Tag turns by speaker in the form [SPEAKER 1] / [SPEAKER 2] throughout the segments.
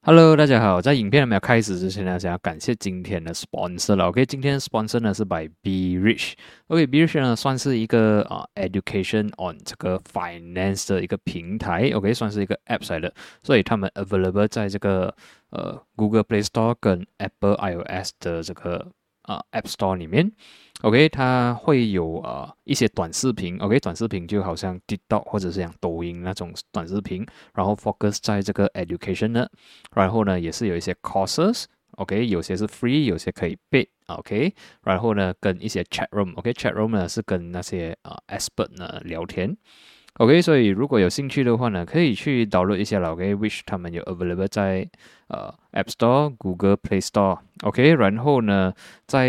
[SPEAKER 1] Hello，大家好。在影片还没有开始之前呢，想要感谢今天的 sponsor 了。OK，今天的 sponsor 呢是 by Be Rich。OK，Be Rich 呢算是一个education on 这个 finance 的一个平台。OK，算是一个 app 来的，所以他们 available 在这个Google Play Store 跟 Apple iOS 的这个App Store 里面。OK，它会有一些短视频。OK，短视频就好像 TikTok 或者是像抖音那种短视频，然后 focus 在这个 education 呢。然后呢，也是有一些 courses，OK，有些是 free，有些可以 pay，OK，然后呢，跟一些 chat room，OK，chat room 呢是跟那些expert 呢聊天，OK，所以如果有兴趣的话呢，可以去 download 一下了，OK，which 他们有 available 在App Store、Google Play Store，OK，然后呢，在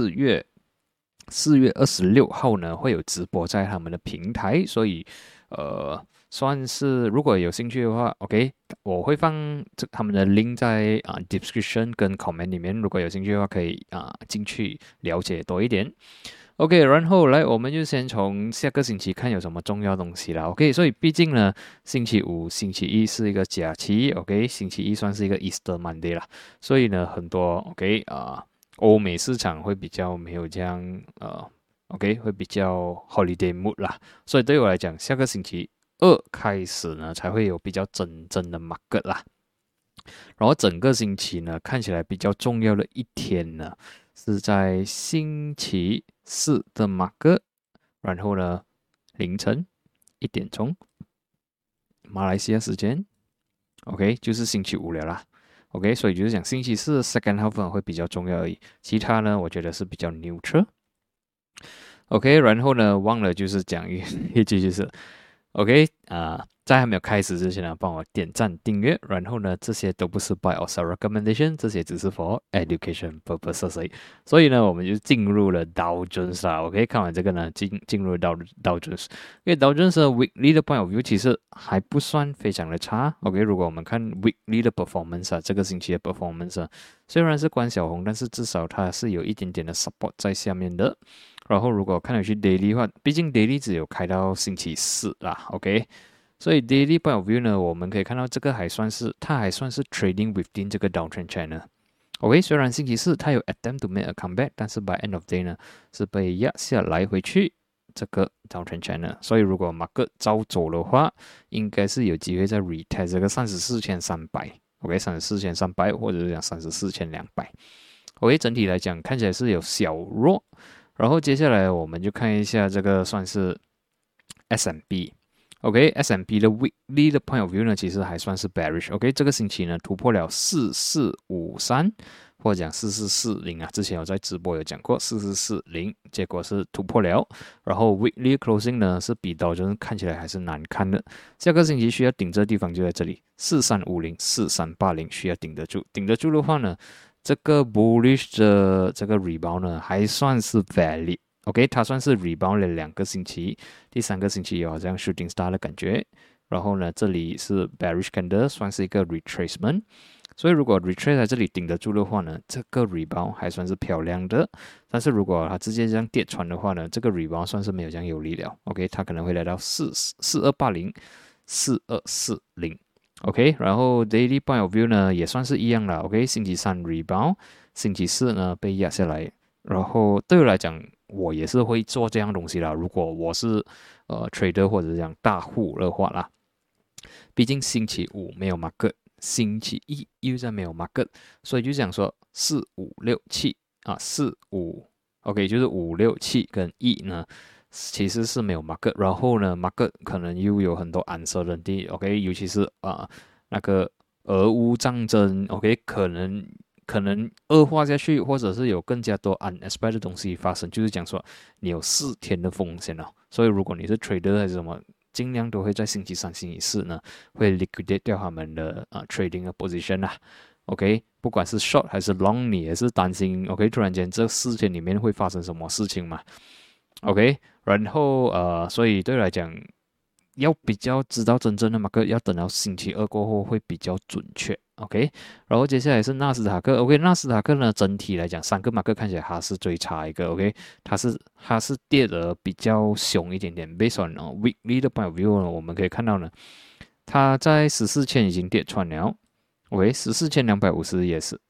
[SPEAKER 1] 4月26号呢会有直播在他们的平台，所以算是如果有兴趣的话，OK，我会放他们的 link 在description 跟 comment 里面，如果有兴趣的话可以进去了解多一点。OK，然后来我们就先从下个星期看有什么重要东西啦。OK，所以毕竟呢，星期五、星期一是一个假期，OK，星期一算是一个 Easter Monday 啦，所以呢，很多 OK 欧美市场会比较没有这样OK 会比较 holiday mood 啦，所以对我来讲，下个星期二开始呢才会有比较真正的 market 啦，然后整个星期呢看起来比较重要的一天呢是在星期四的 market，然后呢凌晨1点钟马来西亚时间 OK 就是星期五了啦。OK，所以就是讲星期四的 second half 会比较重要而已，其他呢，我觉得是比较 neutral。OK，然后呢，忘了就是讲一句就是 OK 在还没有开始之前呢，帮我点赞订阅，然后呢，这些都不是 buy or sell recommendation，这些只是 for education purposes 而已。所以呢，我们就进入了 Dow Jones 啦。OK，看完这个呢，进入Dow Jones，因为 Dow Jones 的 weekly 的 point of view 其实还不算非常的差。OK，如果我们看 weekly 的 performance 这个星期的 performance 虽然是关小红，但是至少它是有一点点的 support 在下面的。然后如果看回去 daily 的话，毕竟 daily 只有开到星期四啦，OK，所以 daily point of view 呢，我们可以看到这个它还算是 trading within 这个 downtrend channel。OK，虽然星期四它有 attempt to make a comeback，但是 by end of day 呢是被压下来回去这个 downtrend channel，所以如果 market 照走的话，应该是有机会在 retest 这个34,300，OK，34,300或者是讲34,200。OK，整体来讲看起来是有小弱。然后接下来我们就看一下这个算是 S&P。OK，S&P 的 weekly 的 point of view 呢，其实还算是 bearish。OK，这个星期呢突破了4453，或者讲4440之前有在直播有讲过4440，结果是突破了。然后 weekly closing 呢是比道琼看起来还是难看的。下个星期需要顶这地方就在这里4350、4380需要顶得住。顶得住的话呢？这个 bullish 的这个 rebound 呢，还算是 valid。OK， 它算是 rebound 了2个星期，第3个星期有好像 shooting star 的感觉。然后呢，这里是 bearish candle， 算是一个 retracement。所以如果 retrace 在这里顶得住的话呢，这个 rebound 还算是漂亮的。但是如果它直接这样跌穿的话呢，这个 rebound 算是没有这样有力了。OK， 它可能会来到4280、4240。OK， 然后 daily point of view 呢也算是一样了。OK， 星期三 rebound， 星期四呢被压下来。然后对我来讲，我也是会做这样东西啦。如果我是trader 或者讲大户的话啦，毕竟星期五没有 market， 星期一又在没有 market， 所以就想说4、5、6、74、5 ，OK， 就是5、6、7跟1呢。其实是没有 market， 然后呢 market 可能又有很多 uncertainty，OK， 尤其是那个俄乌战争 ，OK， 可能恶化下去，或者是有更加多 unexpected 的东西发生，就是讲说你有4天的风险了，所以如果你是 trader 还是什么，尽量都会在星期三、星期四呢会 liquidate 掉他们的trading 的 position 啦。OK， 不管是 short 还是 long， 你也是担心 OK， 突然间这4天里面会发生什么事情嘛？ OK， 然后所以对我来讲，要比较知道真正的 market， 要等到星期二过后会比较准确。OK， 然后接下来是纳斯达克。OK， 纳斯达克呢，整体来讲3个 market 看起来它是最差一个。OK， 它是跌得比较凶一点点。Based on weekly 的 point of view 呢，我们可以看到呢，它在14千已经跌穿了。 OK， 14250也是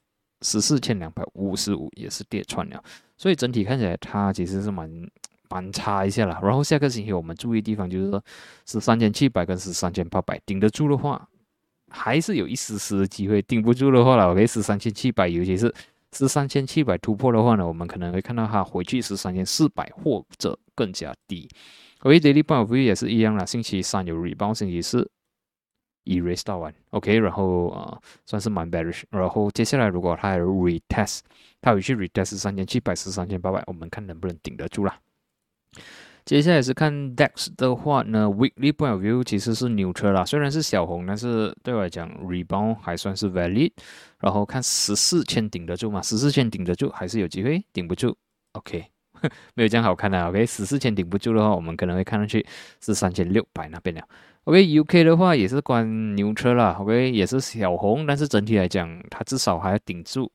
[SPEAKER 1] 14255也是跌穿了，所以整体看起来它其实是蛮差一下了。然后下个星期我们注意的地方就是说13700跟13800顶得住的话，还是有一丝丝的机会；顶不住的话了，OK， 13700，尤其是13700突破的话呢，我们可能会看到它回去13400或者更加低。OK，Daily Point of View 也是一样啦，星期三有 rebound，星期四erase 到完 ，OK， 然后算是蛮 bearish， 然后接下来如果它有 retest， 它回去 retest 3700、13800，我们看能不能顶得住啦。接下来是看 DAX 的话呢 ，Weekly Point of View 其实是 neutral 啦，虽然是小红，但是对我来讲 rebound 还算是 valid。然后看14000顶得住吗？14000顶得住还是有机会，顶不住 ，OK， 没有这样好看的 ，OK，14000顶不住的话，我们可能会看上去是3600那边了。OK，UK 的话也是关 neutral 啦 ，OK， 也是小红，但是整体来讲，它至少还要顶住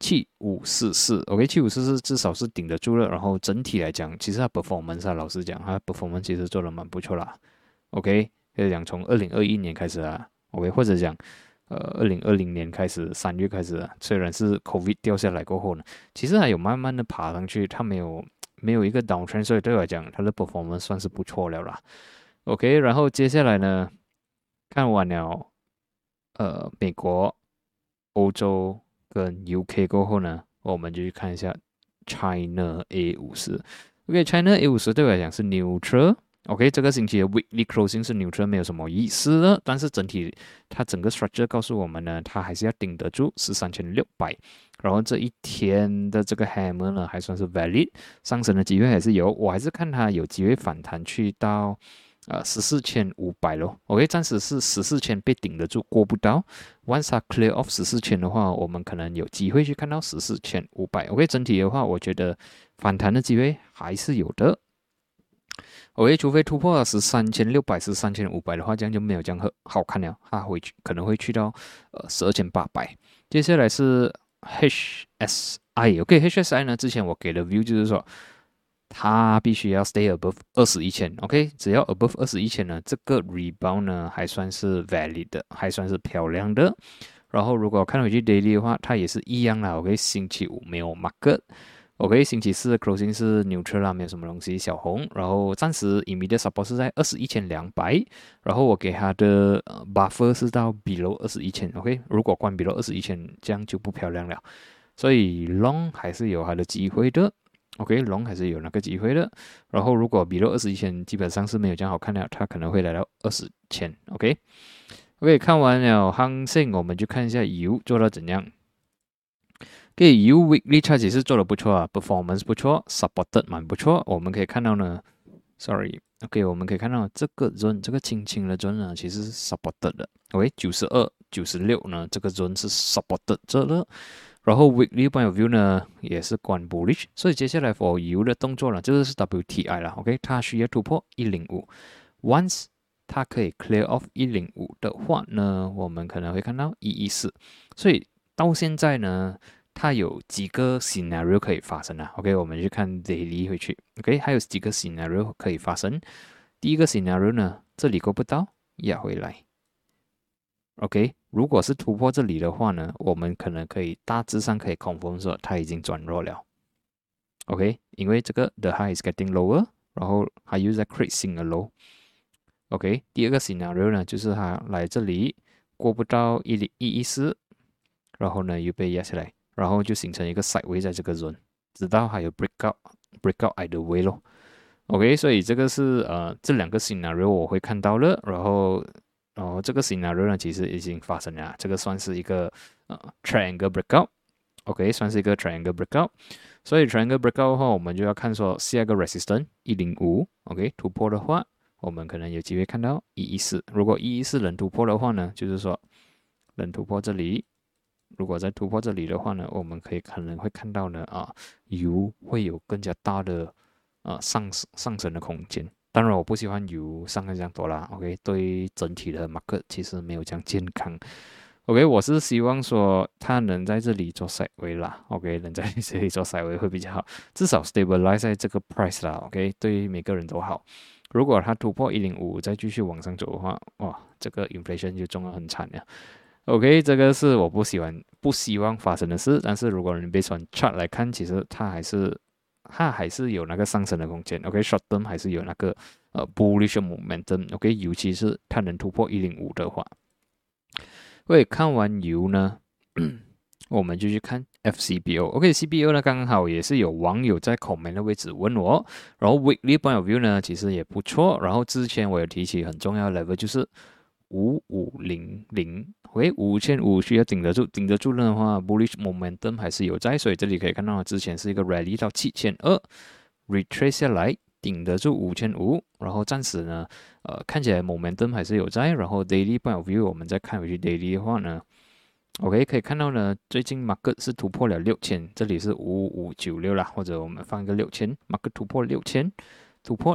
[SPEAKER 1] 7544，OK，7544至少是顶得住了。然后整体来讲，其实它 performance 啊，老实讲，它 performance 其实做得蛮不错啦。OK， 可以讲从2021年开始啊 ，OK， 或者讲2020年开始3月开始啊，虽然是 COVID 掉下来过后呢，其实还有慢慢的爬上去，它没有一个 downtrend， 所以对我来讲，它的 performance 算是不错了啦。OK， 然后接下来呢，看完了美国、欧洲跟 UK 过后呢，我们就去看一下 China A50。OK，China A50 对我来讲是 neutral。OK， 这个星期的 weekly closing 是 neutral， 没有什么意思的。但是整体它整个 structure 告诉我们呢，它还是要顶得住13600。然后这一天的这个 hammer 呢，还算是 valid， 上升的机会还是有。我还是看它有机会反弹去到14500咯。OK， 暂时是14000被顶得住，过不到。Once 它 clear off 14000的话，我们可能有机会去看到14500。OK， 整体的话，我觉得反弹的机会还是有的。OK， 除非突破了13600、13500的话，这样就没有这样好看了，它可能会去到12800。接下来是 HSI。OK，HSI 呢，之前我给的 view 就是说，它必须要 stay above 21000 ，OK， 只要 above 21000呢，这个 rebound 呢还算是 valid 的，还算是漂亮的。然后如果看回去 daily 的话，它也是一样啦 ，OK， 星期五没有 market。OK， 星期四的 closing 是 neutral 啦，没有什么东西，小红。然后暂时 immediate support 是在21200，然后我给它的buffer 是到 below 21000。OK， 如果关 below 21000，这样就不漂亮了。所以 long 还是有它的机会的。OK，long 还是有那个机会的。然后如果 below 21000，基本上是没有这样好看的，它可能会来到20000。OK，看完了航线，我们就看一下油做到怎样。油 weekly chart 也是做的不错啊 ，performance 不错 ，supported 蛮不错。我们可以看到呢 ，sorry，OK， 我们可以看到这个 zone， 这个轻轻的 zone 呢，其实是 supported 的。OK，92、96呢，这个 zone 是 supported 这的。然后 weekly point of view 呢，也是关 bullish， 所以接下来 for 油的动作呢，就是 WTI 了。OK， 它需要突破105，once 它可以 clear off 105的话呢，我们可能会看到114。所以到现在呢，它有几个 scenario 可以发生啊 ？OK， 我们去看 daily 回去。OK， 还有几个 scenario 可以发生。第一个 scenario 呢，这里够不到，压回来。OK， 如果是突破这里的话呢，我们可能可以大致上可以 confirm 说它已经转弱了。OK， 因为这个 the high is getting lower， 然后它又在 creating a low。OK， 第二个 scenario 呢，就是它来这里过不到114，然后呢又被压下来。然后就形成一个 sideway 在这个 zone， 直到还有 break out either way 咯。OK， 所以这个是这两个 scenario 我会看到了，然后这个 scenario 呢其实已经发生了，这个算是一个triangle breakout。OK， 算是一个 triangle breakout。所以 triangle breakout 的话，我们就要看说下一个 resistance 105。OK， 突破的话，我们可能有机会看到114。如果114能突破的话呢，就是说能突破这里。如果再突破这里的话呢，我们可能会看到呢油会有更加大的上升的空间。当然我不喜欢油上升这样多啦 ，OK， 对整体的 market 其实没有这样健康。OK， 我是希望说它能在这里做 sideway 啦 ，OK， 能在这里做 sideway 会比较好，至少 stabilize 在这个 price 啦 ，OK， 对每个人都好。如果它突破105再继续往上走的话，哇，这个 inflation 就中得很惨了。 OK，这个是我不希望发生的事。但是如果你 based on chart 来看，其实它还是有那个上升的空间。OK，short term 还是有那个bullish momentum。OK，尤其是它能突破105的话。OK，看完油呢，我们就去看 FCBO。OK，CBO 呢刚好也是有网友在 comment 的位置问我，然后 weekly point of view 呢其实也不错。然后之前我有提起很重要的 level 就是5500。OK，5500需要顶得住，顶得住的话 bullish momentum 还是有在，所以这里可以看到之前是一个 rally 到7200 retrace 下来，顶得住5500，然后暂时呢看起来 momentum 还是有在。然后 daily point of view 我们再看回去 daily 的话呢，OK，可以看到呢，最近 market 是突破了6000，这里是5596啦，或者我们放一个6000，market 突破6000，突破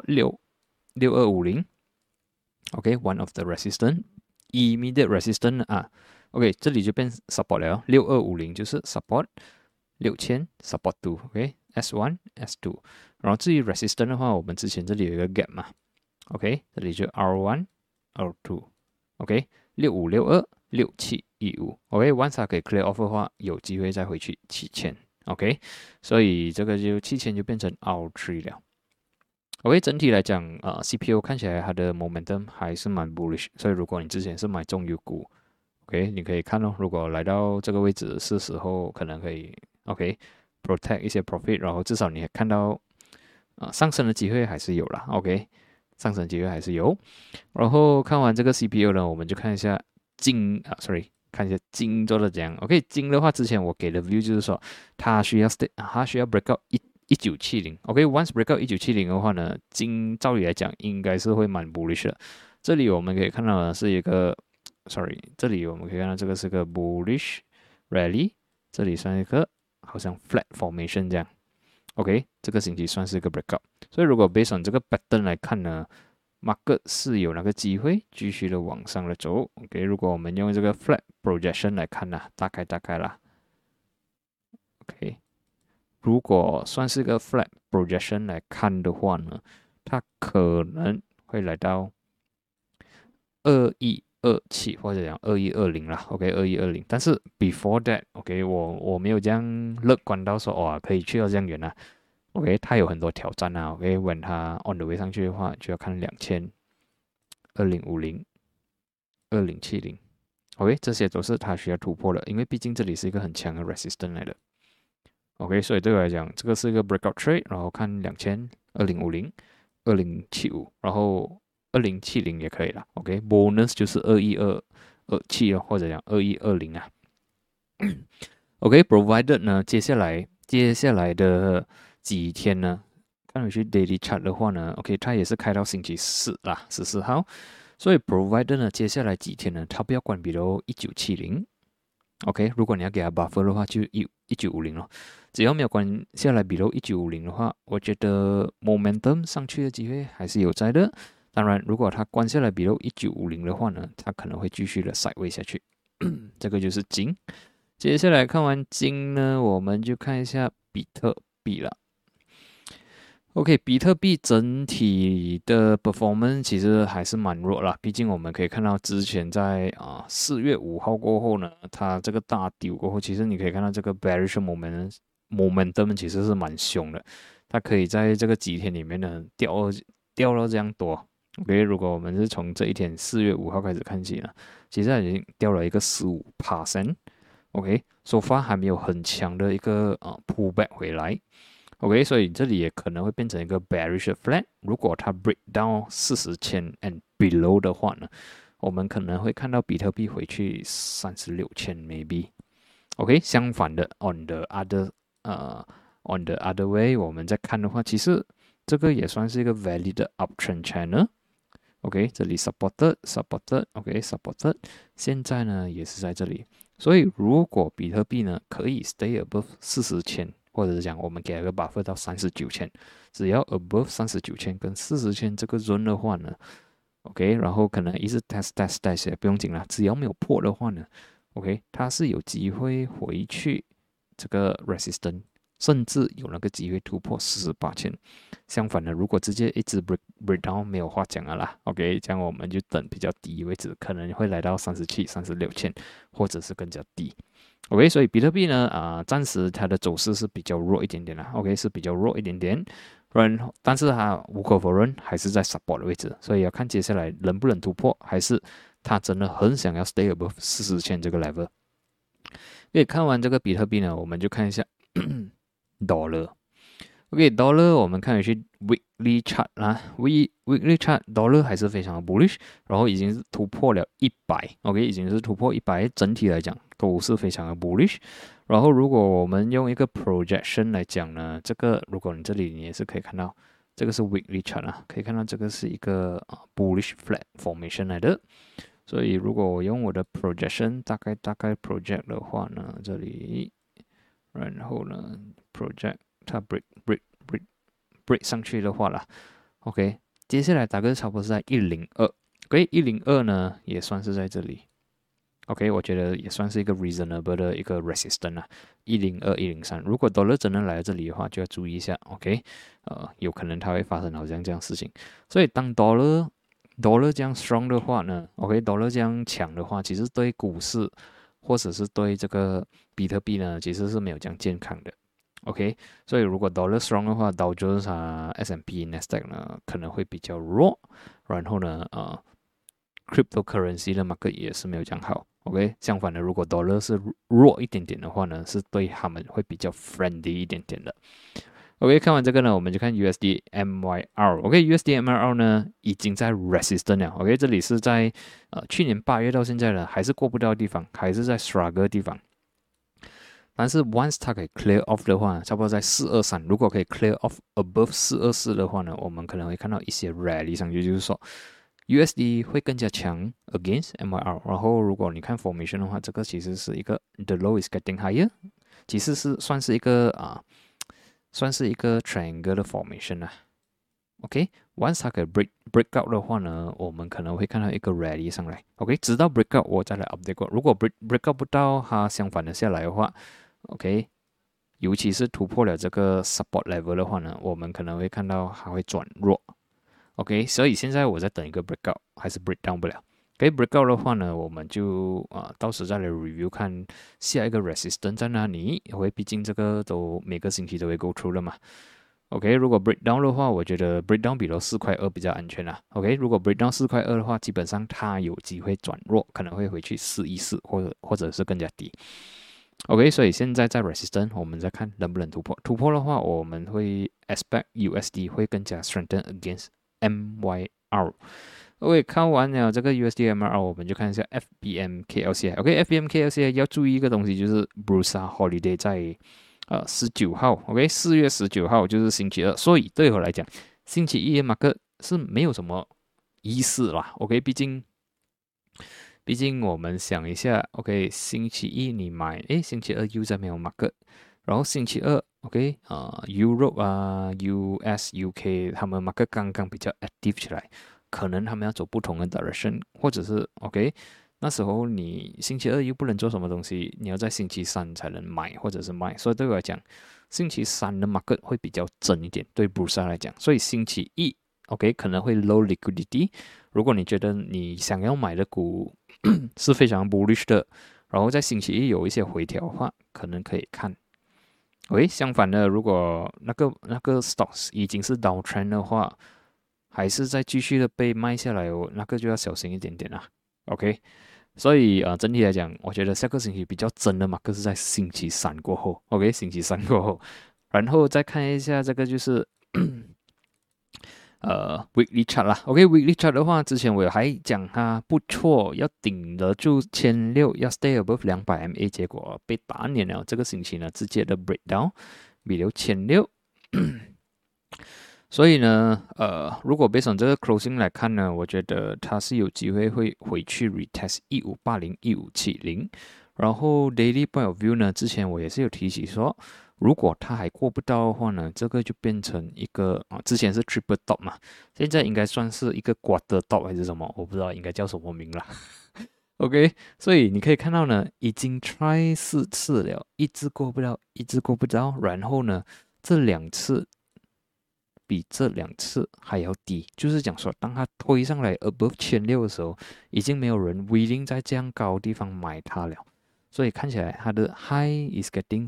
[SPEAKER 1] 6250。OK，one of the resistance，immediate resistance 啊。OK，这里就变 support 了，6250就是 support，6000 support 2。OK，S1 S2，然后至于 resistance 的话，我们之前这里有一个 gap 嘛。OK，这里就 R1 R2。OK，6562 6715。OK，once 它可以 clear off 的话，有机会再回去7000。OK，所以这个就7000就变成 R3 了。OK， 整体来讲CPU 看起来它的 momentum 还是蛮 bullish， 所以如果你之前是买中油股 ，OK， 你可以看如果来到这个位置是时候可能可以 OK protect 一些 profit， 然后至少你也看到上升的机会还是有啦。OK， 上升机会还是有。然后看完这个 CPU 呢，我们就看一下看一下金做的怎样。OK， 金的话之前我给的 view 就是说它需要 break out 1970。OK，once break out 1970的话呢，金照理来讲应该是会蛮 bullish 的。这里我们可以看到的是一个这里我们可以看到这个是个 bullish rally， 这里算一个好像 flat formation 这样。OK， 这个星期算是一个 breakout， 所以如果 based on 这个 pattern 来看呢，market 是有那个机会继续的往上的走。OK， 如果我们用这个 flat projection 来看呢，大概啦。OK， 如果算是个 flat projection 来看的话呢，它可能会来到2127或者讲2120啦。OK，2120，但是 before that，OK， 我没有这样乐观到说哇可以去到这样远啊。OK， 它有很多挑战啊。OK，when 它 on the way 上去的话，就要看2000、2050、2070。OK， 这些都是它需要突破的，因为毕竟这里是一个很强的 resistance 来的。OK， 所以对我来讲，这个是一个 breakout trade， 然后看2000、2050、2075，然后2070也可以了。OK，bonus 就是21227或者讲2120啊。OK，provided 呢，接下来的几天呢，看回去 daily chart 的话呢 ，OK， 它也是开到星期四啦，14号。所以 provider 呢，接下来几天呢，它不要关闭到1970。OK， 如果你要给它 buffer 的话，就1950咯。只要没有关下来 below 1950的话，我觉得 momentum 上去的机会还是有在的。当然，如果它关下来 below 1950的话呢，它可能会继续的 sideways 下去。这个就是金。接下来看完金呢，我们就看一下比特币了。OK， 比特币整体的 performance 其实还是蛮弱啦，毕竟我们可以看到之前在4月5号过后呢，它这个大丢过后，其实你可以看到这个 bearish momentum 其实是蛮凶的，它可以在这个几天里面呢掉到这样多。OK， 如果我们是从这一天4月5号开始看起呢，其实它已经掉了一个15%。OK，so far 还没有很强的一个pullback 回来。OK， 所以这里也可能会变成一个 bearish flat。如果它 break down 40,000 and below 的话呢，我们可能会看到比特币回去36,000 maybe。OK， 相反的 on the other way， 我们再看的话，其实这个也算是一个 valid uptrend channel。OK， 这里 supported，OK，supported， 现在呢也是在这里。所以如果比特币呢可以 stay above 40,000。或者是讲我们给了个 buffer 到39,000，只要 above 39,000跟40,000这个 zone 的话呢 ，OK， 然后可能一直 test 也不用紧啦，只要没有破的话呢 ，OK， 它是有机会回去这个 resistance 甚至有那个机会突破48000。相反的，如果直接一直 breakdown 没有话讲了啦 ，OK， 这样我们就等比较低位置，可能会来到37、36千，或者是更加低。OK， 所以比特币呢，暂时它的走势是比较弱一点点啦 ，OK， 是比较弱一点点。但是它无可否认还是在 support 的位置，所以要看接下来能不能突破，还是它真的很想要 stay above 40千这个 level。可以看完这个比特币呢，我们就看一下dollar。OK，dollar 我们看回去 weekly chart 啦，weekly chart dollar 还是非常的 bullish， 然后已经是突破了100，OK， 已经是突破100，整体来讲都是非常的 bullish。然后如果我们用一个 projection 来讲呢，这个如果你这里你也是可以看到，这个是 weekly chart 啊，可以看到这个是一个bullish flat formation 来的。所以如果我用我的 projection 大概 project 的话呢，这里，然后呢 project 它 break 上去的话啦 ，OK， 接下来大概差不多是在102，OK， 102呢也算是在这里 ，OK， 我觉得也算是一个 reasonable 的一个 resistance 啊，102、103，如果 dollar 真的来到这里的话，就要注意一下 ，OK， 有可能它会发生好像这样的事情，所以当 dollar 这样 strong 的话呢 ，OK，dollar 这样强的话，其实对股市或者是对这个比特币呢，其实是没有这样健康的。OK， 所以如果 dollar strong 的话，Dow Jones S&P、Nasdaq 呢可能会比较弱，然后呢，cryptocurrency 的 market 也是没有这样好。OK， 相反的，如果 dollar 是弱一点点的话呢，是对他们会比较 friendly 一点点的。OK， 看完这个呢，我们就看 USD MYR。OK，USD MYR 呢已经在 resistance 了。OK， 这里是在去年8月到现在呢，还是过不到的地方，还是在 struggle 的地方。但是 once 它可以 clear off 的话，差不多在423，如果可以 clear off above 424的话呢，我们可能会看到一些 rally 上去，就是说 USD 会更加强 against MYR。然后如果你看 formation 的话，这个其实是一个 the low is getting higher， 其实是算是一个triangle 的 formation 啊。OK，once 它可以 break out 的话呢，我们可能会看到一个 rally 上来。OK， 直到 break out 我再来 update 过。如果 break out 不到，它相反的下来的话，OK， 尤其是突破了这个 support level 的话呢，我们可能会看到它会转弱。OK， 所以现在我在等一个 break out， 还是 break down 不了。break out 的话呢，我们就到时再来 review 看下一个 resistance 在哪里。因为毕竟这个都每个星期都会 go through 了嘛。OK， 如果 breakdown 的话，我觉得 breakdown 比4.2比较安全啦。OK， 如果 breakdown 4.2的话，基本上它有机会转弱，可能会回去414或者是更加低。OK， 所以现在在 resistance， 我们再看能不能突破。突破的话，我们会 expect USD 会更加 strengthen against MYR。OK， 看完了这个 USD MYR， 我们就看一下 FBM/KLCI。OK，FBM/KLCI 要注意一个东西，就是 Bursa Holiday 在19号 ，OK， 4月19号就是星期二，所以对我来讲，星期一的 market 是没有什么意思啦 ，OK， 毕竟我们想一下 ，OK， 星期一你买，星期二又在没有 market， 然后星期二 ，OK， Europe US、UK 他们 market 刚刚比较 active 起来，可能他们要走不同的 direction， 或者是 OK。那时候你星期二又不能做什么东西，你要在星期三才能买或者是卖，所以对我来讲，星期三的 market 会比较真一点，对 Bursa 来讲，所以星期一 OK 可能会 low liquidity。如果你觉得你想要买的股是非常 bullish 的，然后在星期一有一些回调的话，可能可以看。OK， 相反的，如果那个 stocks 已经是 downtrend 的话，还是在继续的被卖下来哦，那个就要小心一点点啦。OK。所以整体来讲，我觉得下个星期比较真的嘛，可是在星期三过后 ，OK， 星期三过后，然后再看一下这个就是weekly chart 啦 ，OK，weekly chart 的话，之前我还讲它不错，要顶得住1600，要 stay above 200 MA， 结果被打脸了。这个星期呢，直接的 breakdown， 比了1600。所以呢，如果 based on 这个 closing 来看呢，我觉得它是有机会会回去 retest 1580、1570。然后 daily point of view 呢，之前我也是有提起说，如果它还过不到的话呢，这个就变成一个之前是 triple top 嘛，现在应该算是一个 quarter top 还是什么，我不知道应该叫什么名了。 OK，所以你可以看到呢，已经 try 4次了，一直过不了，一直过不着。然后呢，这2次比这2次还要低，就是讲说，当它推上来 above 1600的时候，已经没有人 willing 在这样高的地方买它了。所以看起来它的 high is getting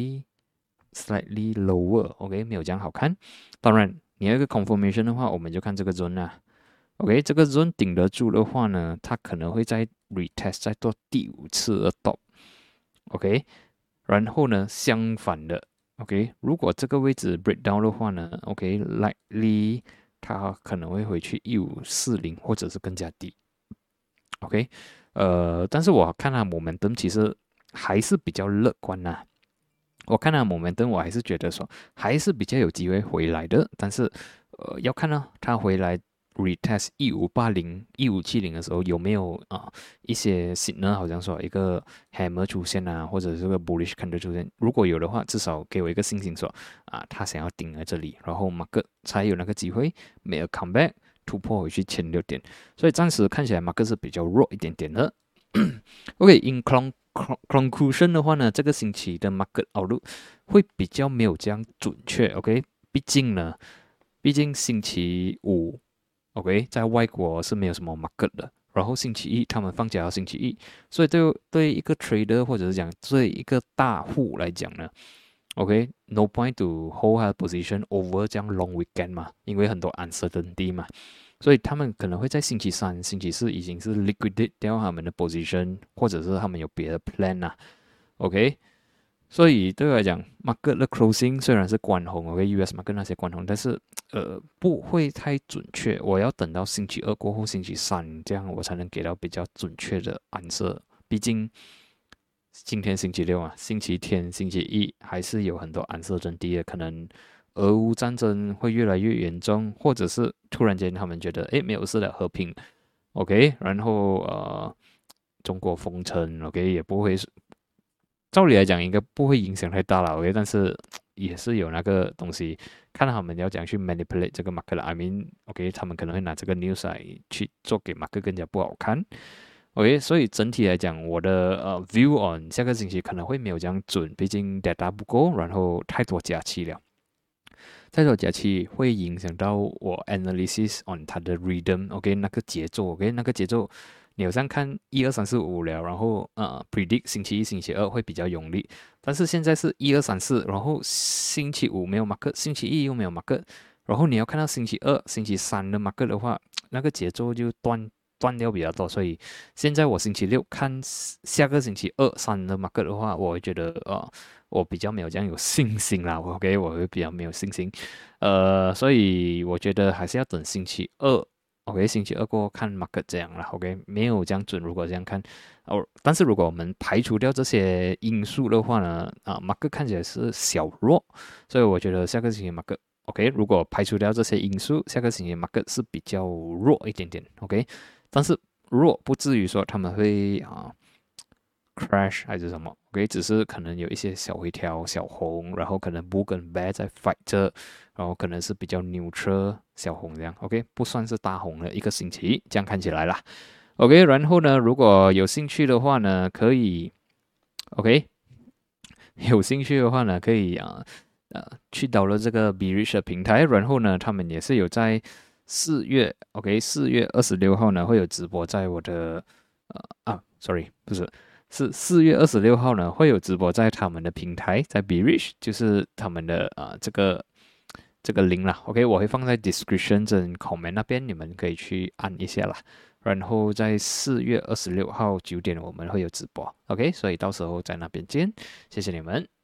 [SPEAKER 1] slightly lower，OK，没有这样好看。当然，你要一个 confirmation 的话，我们就看这个 zone 啊。OK，这个 zone 顶得住的话呢，它可能会在 retest 再做第5次的 top。OK，然后呢，相反的 ，OK，如果这个位置 breakdown 的话呢，OK，likely 它可能会回去1540或者是更加低。OK，但是我看它 momentum 其实还是比较乐观呐、我看它 momentum 我还是觉得说还是比较有机会回来的，但是要看呢，它回来 retest 1580、1570的时候有没有一些 signal， 好像说一个 hammer 出现啊，或者是个 bullish candle 出现，如果有的话，至少给我一个信心说他想要顶在这里，然后 market 才有那个机会 make a comeback 突破回去1600点，所以暂时看起来 market 是比较弱一点点的。OK，in conclusion 的话呢，这个星期的 market outlook 会比较没有这样准确。OK，毕竟星期五 OK 在外国是没有什么 market 的，然后星期一他们放假到星期一，所以对一个 trader 或者是讲对一个大户来讲呢，OK，no point to hold a position over 这样 long weekend 嘛，因为很多 uncertainty 嘛。所以他们可能会在星期三、星期四已经是 liquidate 掉他们的 position，或者是他们有别的 plan 啊。OK，所以对我来讲 ，market 的 closing 虽然是关红，OK，US market 那些关红，但是不会太准确。我要等到星期二过后，星期三这样我才能给到比较准确的 answer。毕竟今天星期六啊，星期天、星期一还是有很多uncertainty的，可能俄乌战争会越来越严重，或者是突然间他们觉得没有事了，和平，OK，然后中国封城，OK 也不会，照理来讲应该不会影响太大了，OK，但是也是有那个东西，看他们要讲去 manipulate 这个 market，I mean，OK，他们可能会拿这个 news 来去做给 market 更加不好看。OK，所以整体来讲，我的view on 下个星期可能会没有这样准，毕竟 data 不够，然后太多假期了。太多假期会影响到我 analysis on 它的 rhythm，OK， 那个节奏，OK， 那个节奏，你好像看1、2、3、4、5了，然后predict 星期一、星期二会比较用力，但是现在是1、2、3、4，然后星期五没有 market， 星期一又没有 market， 然后你要看到星期二、星期三的 market 的话，那个节奏就断掉比较多，所以现在我星期六看下个星期2、3的 market 的话，我会觉得我比较没有这样有信心啦，OK，我会比较没有信心，所以我觉得还是要等星期二，OK，星期二过后看 market 这样啦，OK，没有这样准，如果这样看，但是如果我们排除掉这些因素的话呢，market 看起来是小弱，所以我觉得下个星期 market。OK， 如果排除掉这些因素，下个星期 market 是比较弱一点点，OK，但是弱不至于说他们会crash 还是什么，OK，只是可能有一些小回调、小红，然后可能 bull 跟 bear 在 fight 着，然后可能是比较 neutral 小红这样，OK，不算是大红的一个星期，这样看起来啦，OK，然后呢，如果有兴趣的话呢，可以 OK，有兴趣的话呢，可以去到了这个 Bearish 的平台，然后呢，他们也是有在4月26号呢会有直播在我的sorry 不是。是4月26号呢，会有直播在他们的平台，在 Bearish， 就是他们的这个 link 啦，OK， 我会放在 description 跟 comment 那边，你们可以去按一下啦。然后在4月26号9点我们会有直播，OK， 所以到时候在那边见，谢谢你们。